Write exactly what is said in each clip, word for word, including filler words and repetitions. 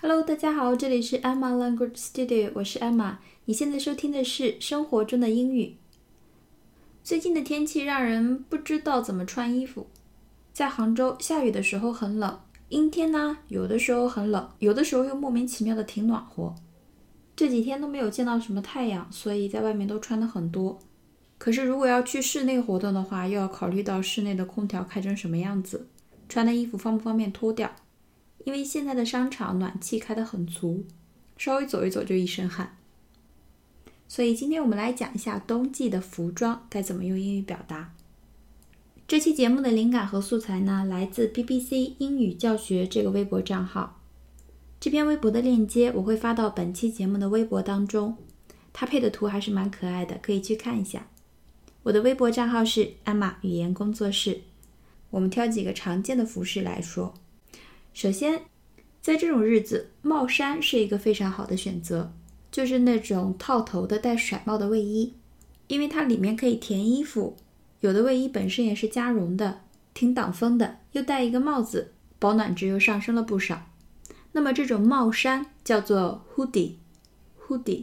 Hello， 大家好，这里是 Emma Language Studio， 我是 Emma。你现在收听的是生活中的英语。最近的天气让人不知道怎么穿衣服。在杭州下雨的时候很冷，阴天呢，有的时候很冷，有的时候又莫名其妙的挺暖和。这几天都没有见到什么太阳，所以在外面都穿的很多。可是如果要去室内活动的话，又要考虑到室内的空调开成什么样子，穿的衣服方不方便脱掉。因为现在的商场暖气开得很足，稍微走一走就一身汗。所以今天我们来讲一下冬季的服装该怎么用英语表达。这期节目的灵感和素材呢，来自 B B C 英语教学这个微博账号。这篇微博的链接我会发到本期节目的微博当中，它配的图还是蛮可爱的，可以去看一下。我的微博账号是 Emma 语言工作室。我们挑几个常见的服饰来说。首先，在这种日子，帽衫是一个非常好的选择，就是那种套头的带甩帽的卫衣，因为它里面可以填衣服，有的卫衣本身也是加绒的，挺挡风的，又戴一个帽子，保暖值又上升了不少。那么这种帽衫叫做 hoodie hoodie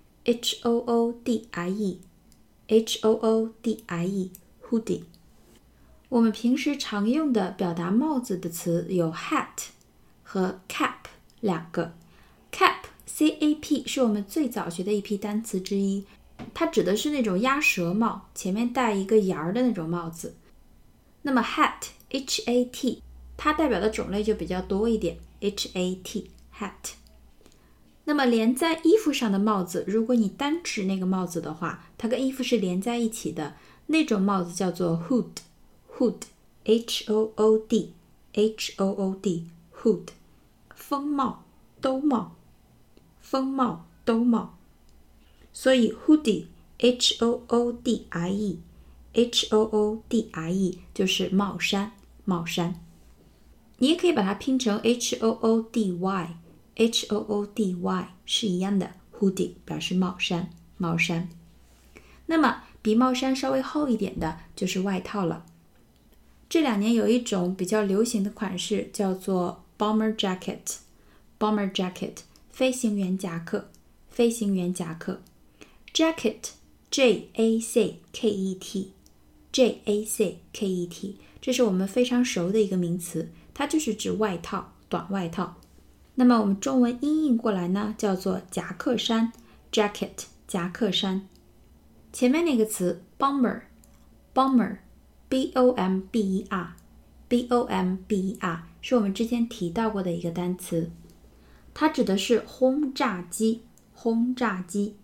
H O O D I E H O O D I E hoodie。我们平时常用的表达帽子的词有 hat 和 cap 两个。 cap C A P 是我们最早学的一批单词之一，它指的是那种鸭舌帽，前面带一个沿儿的那种帽子。那么 hat H A T 它代表的种类就比较多一点， H A T hat。 那么连在衣服上的帽子，如果你单指那个帽子的话，它跟衣服是连在一起的，那种帽子叫做 hood hood H O O D H O O D hood。 风帽、兜帽，风帽、兜帽。所以 hoodie H O O D I E H O O D I E 就是帽衫，帽衫。你也可以把它拼成 H O O D Y H O O D Y 是一样的， hoodie 表示帽衫，帽衫。那么比帽衫稍微厚一点的就是外套了。这两年有一种比较流行的款式叫做 bomber jacket bomber jacket 飞行员夹克，飞行员夹克。 jacket J A C K E T J A C K E T 这是我们非常熟的一个名词，它就是指外套，短外套。那么我们中文音译过来呢，叫做夹克衫 jacket 夹克衫。前面那个词 bomber bomber B O M B E R B O M B E R 是我们之前提到过的一个单词，它指的是轰炸机，轰炸机。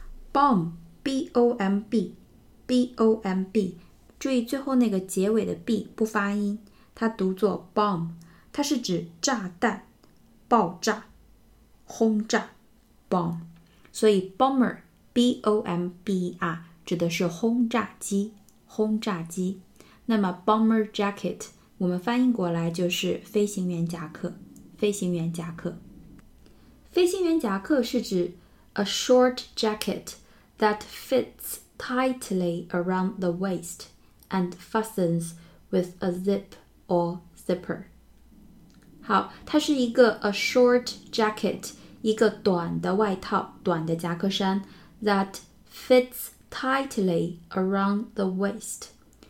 Bomb B O M B B O M B 注意最后那个结尾的 B 不发音，它读作 bomb， 它是指炸弹、爆炸、轰炸 bomb。 所以 bomber B O M B E R 指的是轰炸机，轰炸机。那么 bomber jacket 我们翻译过来就是飞行员夹克，飞行员夹克。飞行员夹克是指 a short jacket that fits tightly around the waist and fastens with a zip or zipper。 好，它是一个 a short jacket 一个短的外套，短的夹克衫 that fits tightly around the waist。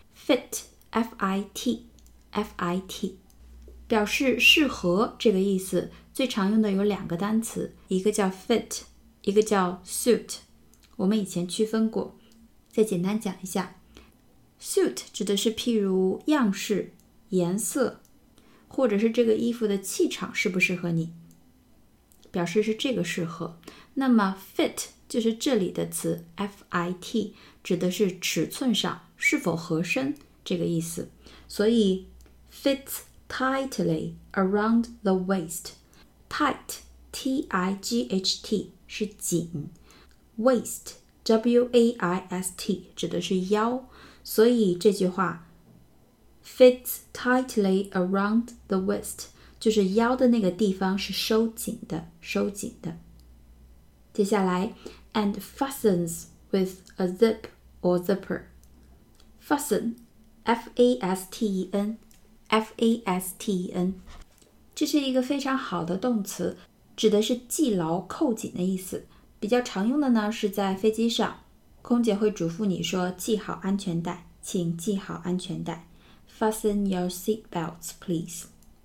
fit F I T F I T 表示适合这个意思，最常用的有两个单词，一个叫 fit， 一个叫 suit。 我们以前区分过，再简单讲一下。 suit 指的是譬如样式、颜色，或者是这个衣服的气场适不适合你，表示是这个适合。那么 fit 就是这里的词 F I T， 指的是尺寸上是否合身这个意思。所以 fits tightly around the waist。 tight T I G H T 是紧， waist W A I S T 指的是腰，所以这句话 fits tightly around the waist 就是腰的那个地方是收紧的，收紧的。接下来 and fastens with a zip or zipper。 fasten F A S T E N F A S T E N 这是一个非常好的动词， 指的是系牢扣紧的意思。比较常用的呢是在飞机上，空姐会嘱咐你说系好安全带，请系好安全带。Fasten your seat belts, please.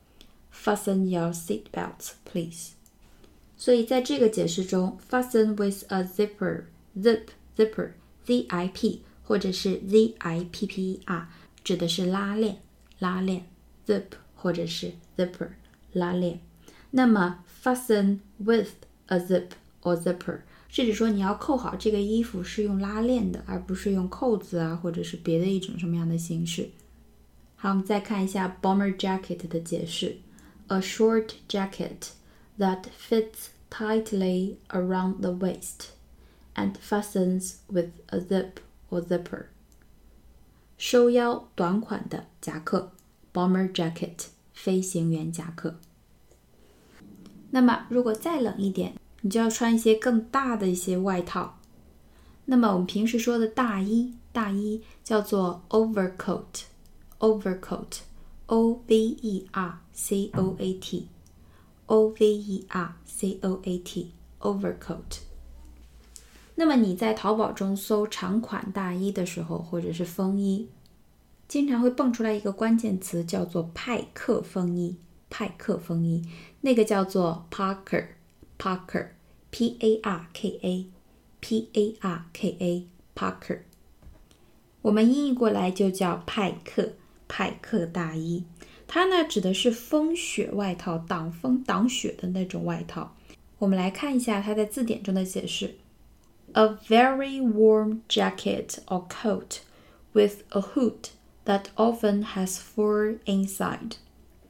Fasten your seat belts, please. 所以在这个解释中 fasten with a zipper, zip, zipper, Z I P 或者是 Z I P P E R 指的是拉链，拉链 zip 或者是 zipper 拉链。那么 fasten with a zip or zipper 是指说你要扣好这个衣服是用拉链的，而不是用扣子啊，或者是别的一种什么样的形式。好，我们再看一下 bomber jacket 的解释。A short jacket that fits tightly around the waist and fastens with a zip or zipper. 收腰短款的夹克 bomber jacket 飞行员夹克。那么如果再冷一点，你就要穿一些更大的一些外套。那么我们平时说的大衣，大衣叫做 overcoat, overcoat, O V E R C O A T, O V E R C O A T, overcoat。那么你在淘宝中搜长款大衣的时候，或者是风衣，经常会蹦出来一个关键词叫做派克风衣，派克风衣，那个叫做 Parker, Parker, P A R K A, P A R K A, Parker。我们音译过来就叫派克，派克大衣。它呢指的是风雪外套，挡风挡雪的那种外套。我们来看一下它在字典中的解释。A very warm jacket or coat with a hood that often has fur inside.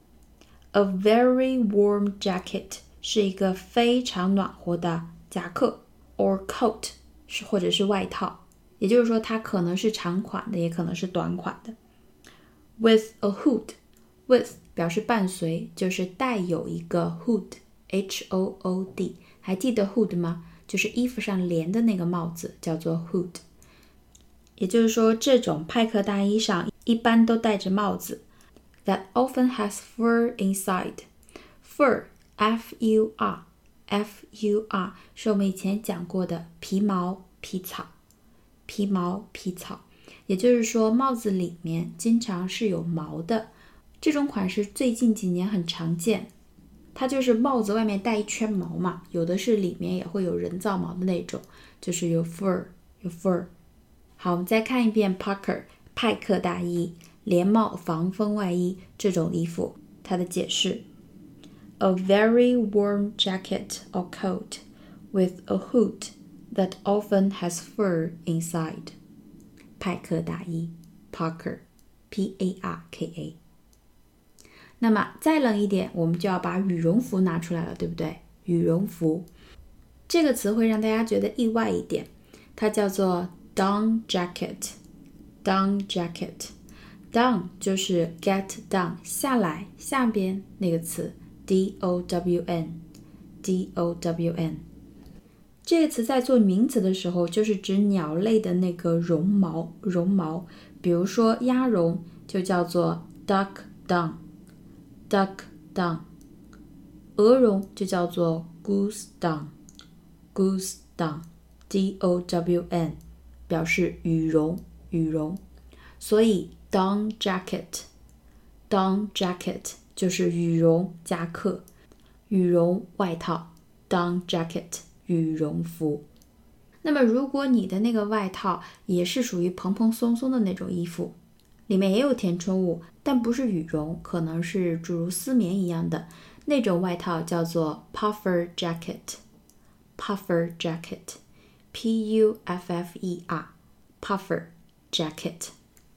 A very warm jacket 是一个非常暖和的夹克 or coat 是或者是外套，也就是说它可能是长款的，也可能是短款的。With a hood, with 表示伴随，就是带有一个 hood, H O O D， 还记得 hood 吗？就是衣服上连的那个帽子叫做 hood。 也就是说这种派克大衣上一般都戴着帽子。That often has fur inside. Fur, F U R, F U R 是我们以前讲过的皮毛皮草，皮毛皮草，也就是说帽子里面经常是有毛的。这种款式最近几年很常见，它就是帽子外面带一圈毛嘛，有的是里面也会有人造毛的那种，就是有 fur 有 fur。 好，我们再看一遍 Parker 派克大衣，连帽防风外衣，这种衣服它的解释。A very warm jacket or coat with a hood that often has fur inside. 派克大衣 Parker, P A R K A。 那么再冷一点，我们就要把羽绒服拿出来了，对不对？羽绒服这个词会让大家觉得意外一点，它叫做 down jacket, down jacket。 down 就是 get down 下来下边那个词 D O W N, D O W N。 这个词在做名词的时候就是指鸟类的那个绒毛，绒毛，比如说鸭绒就叫做 duck down, duck down。 鹅绒就叫做 goose down, goose down, D O W N 表示羽绒，羽绒。所以 down jacket, down jacket 就是羽绒夹克，羽绒外套 down jacket 羽绒服。那么如果你的那个外套也是属于蓬蓬松松的那种衣服，里面也有填充物，但不是羽绒，可能是诸如丝棉一样的那种外套，叫做 puffer jacket, puffer jacket, P U F F E R, puffer jacket。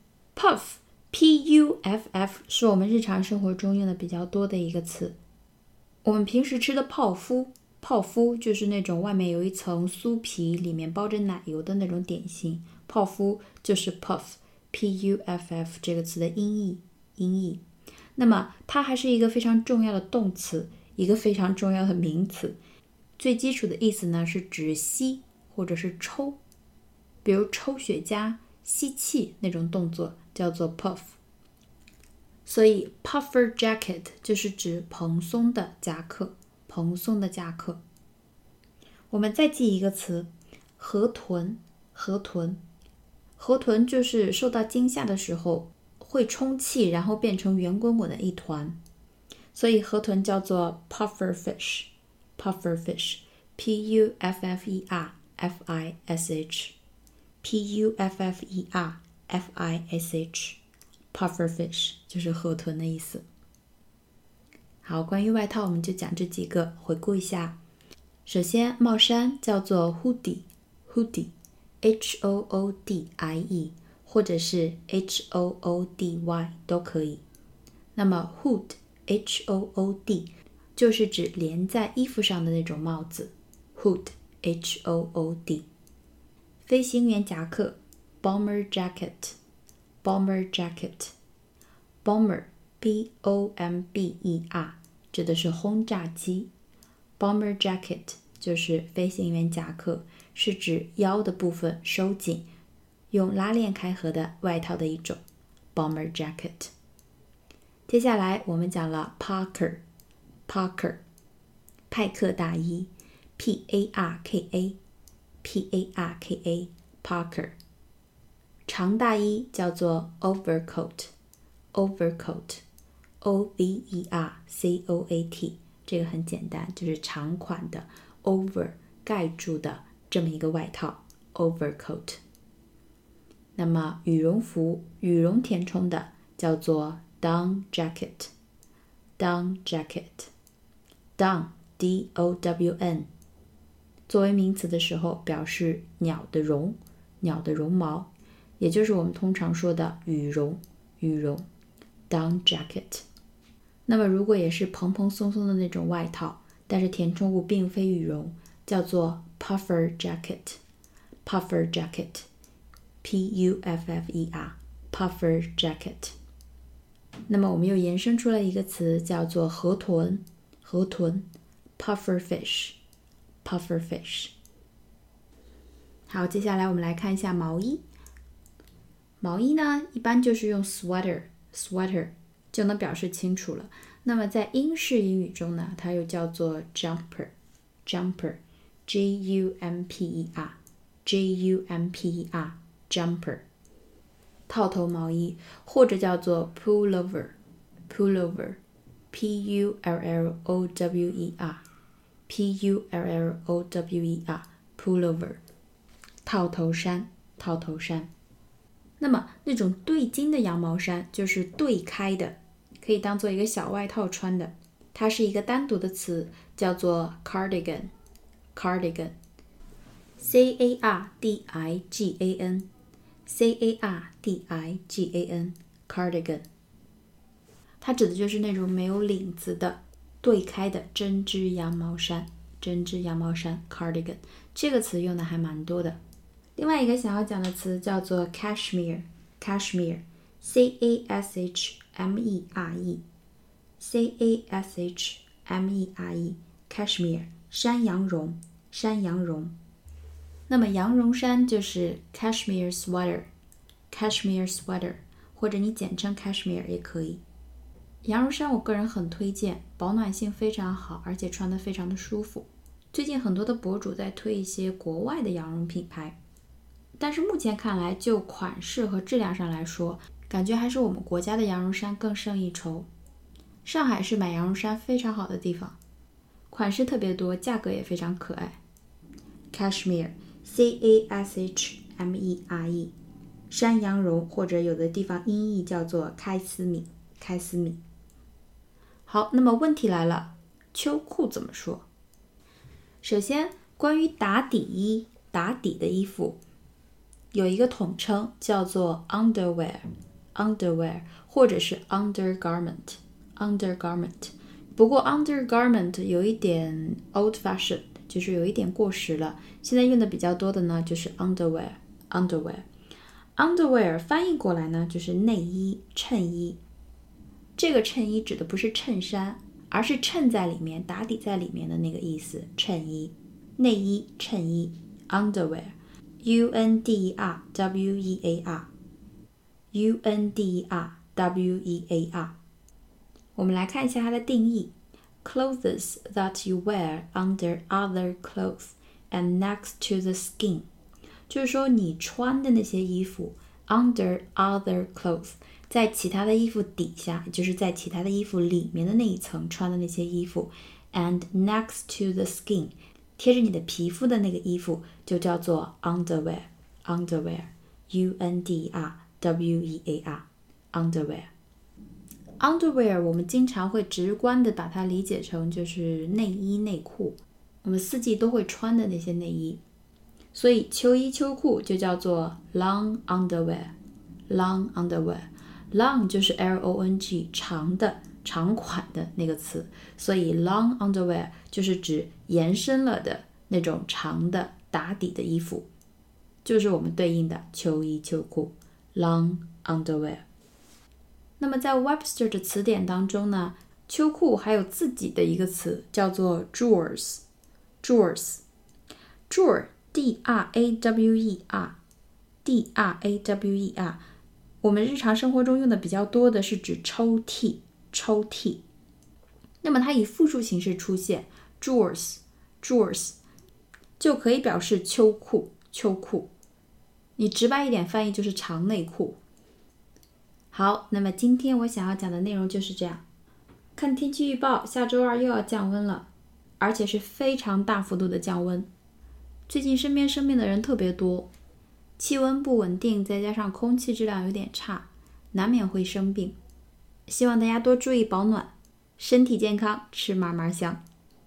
Puff, P U F F 是我们日常生活中用的比较多的一个词。我们平时吃的泡芙，泡芙就是那种外面有一层酥皮，里面包着奶油的那种点心，泡芙就是 puff, P U F F 这个词的音译，音译。那么它还是一个非常重要的动词，一个非常重要的名词。最基础的意思呢是指吸或者是抽，比如抽雪茄吸气那种动作叫做 puff。 所以 puffer jacket 就是指蓬松的夹克， 蓬松的夹克。我们再记一个词，河豚。河豚，河豚就是受到惊吓的时候会充气，然后变成圆滚滚的一团，所以河豚叫做 puffer fish。 puffer fish P U F F E R F I S H P U F F E R F I S H Puffer fish 就是河豚的意思。好，关于外套我们就讲这几个，回顾一下。首先帽衫叫做 hoodie hoodie H O O D I E 或者是 H O O D Y 都可以。那么 hood H O O D 就是指连在衣服上的那种帽子， hood H O O D。 飞行员夹克 bomber jacket bomber jacket bomber B O M B E R 指的是轰炸机， bomber jacket 就是飞行员夹克，是指腰的部分收紧用拉链开合的外套的一种， bomber jacket。 接下来我们讲了 Parker Parker 派克大衣 P A R K A P A R K A Parker。 长大衣叫做 overcoat overcoat O V E R C O A T 这个很简单，就是长款的 over 盖住的这么一个外套 overcoat。 那么羽绒服羽绒填充的叫做 down jacket down jacket down D O W N 作为名词的时候表示鸟的绒鸟的绒毛，也就是我们通常说的羽绒羽绒 down jacket。 那么如果也是蓬蓬松松的那种外套，但是填充物并非羽绒，叫做 puffer jacket puffer jacket P U F F E R puffer jacket。 那么我们又延伸出了一个词叫做河豚河豚 puffer fish puffer fish。 好，接下来我们来看一下毛衣。毛衣呢一般就是用 sweater sweater 就能表示清楚了。那么在英式英语中呢，它又叫做 jumper jumper J U M P E R J U M P E R jumper 套头毛衣，或者叫做 pullover pullover P U L L O W E R P U L L O W E R pullover 套头衫套头衫。那么那种对襟的羊毛衫就是对开的，可以当做一个小外套穿的，它是一个单独的词，叫做 cardigan cardigan C A R D I G A N C A R D I G A N cardigan。 它指的就是那种没有领子的对开的针织羊毛衫针织羊毛衫 cardigan 这个词用的还蛮多的。另外一个想要讲的词叫做 cashmere cashmere C A S H M E R E C A S H M E R E cashmere 山羊绒山羊绒。那么羊绒衫就是 cashmere sweater cashmere sweater 或者你简称 cashmere 也可以。羊绒衫我个人很推荐，保暖性非常好，而且穿得非常的舒服。最近很多的博主在推一些国外的羊绒品牌，但是目前看来就款式和质量上来说，感觉还是我们国家的羊绒衫更胜一筹。上海是买羊绒衫非常好的地方，款式特别多，价格也非常可爱。 Cashmere C A S H M E R E 山羊绒，或者有的地方音译叫做开司米开司米。好，那么问题来了，秋裤怎么说？首先关于打底衣打底的衣服有一个统称叫做 underwear underwear 或者是 undergarment undergarment。 不过 undergarment 有一点 old fashioned， 就是有一点过时了，现在用的比较多的呢就是 underwear underwear underwear 翻译过来呢就是内衣衬衣。这个衬衣指的不是衬衫，而是衬在里面打底在里面的那个意思，衬衣内衣衬衣 underwear U N D E R W E A R U N D E R W E A R。 我们来看一下它的定义。 clothes that you wear under other clothes and next to the skin， 就是说你穿的那些衣服 under other clothes， 在其他的衣服底下，也就是在其他的衣服里面的那一层穿的那些衣服 and next to the skin， 贴着你的皮肤的那个衣服就叫做 underwear underwear U N D R W E A R underwear underwear 我们经常会直观的把它理解成就是内衣内裤，我们四季都会穿的那些内衣，所以秋衣秋裤就叫做 long underwear long underwear long 就是 L O N G 长的长款的那个词，所以 long underwear 就是指延伸了的那种长的打底的衣服，就是我们对应的秋衣秋裤 long underwear。那么在 Webster 的词典当中呢，秋裤还有自己的一个词叫做 drawers drawers drawer D R A W E R D R A W E R 我们日常生活中用的比较多的是指抽屉抽屉，那么它以复数形式出现 drawers drawers 就可以表示秋裤秋裤，你直白一点翻译就是长内裤。好，那么今天我想要讲的内容就是这样。看天气预报，下周二又要降温了，而且是非常大幅度的降温。最近身边生病的人特别多，气温不稳定，再加上空气质量有点差，难免会生病。希望大家多注意保暖，身体健康，吃嘛嘛香。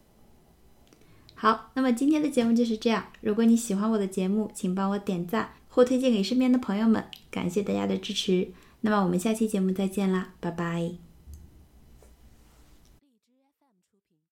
好，那么今天的节目就是这样。如果你喜欢我的节目，请帮我点赞或推荐给身边的朋友们，感谢大家的支持。那么我们下期节目再见啦，拜拜。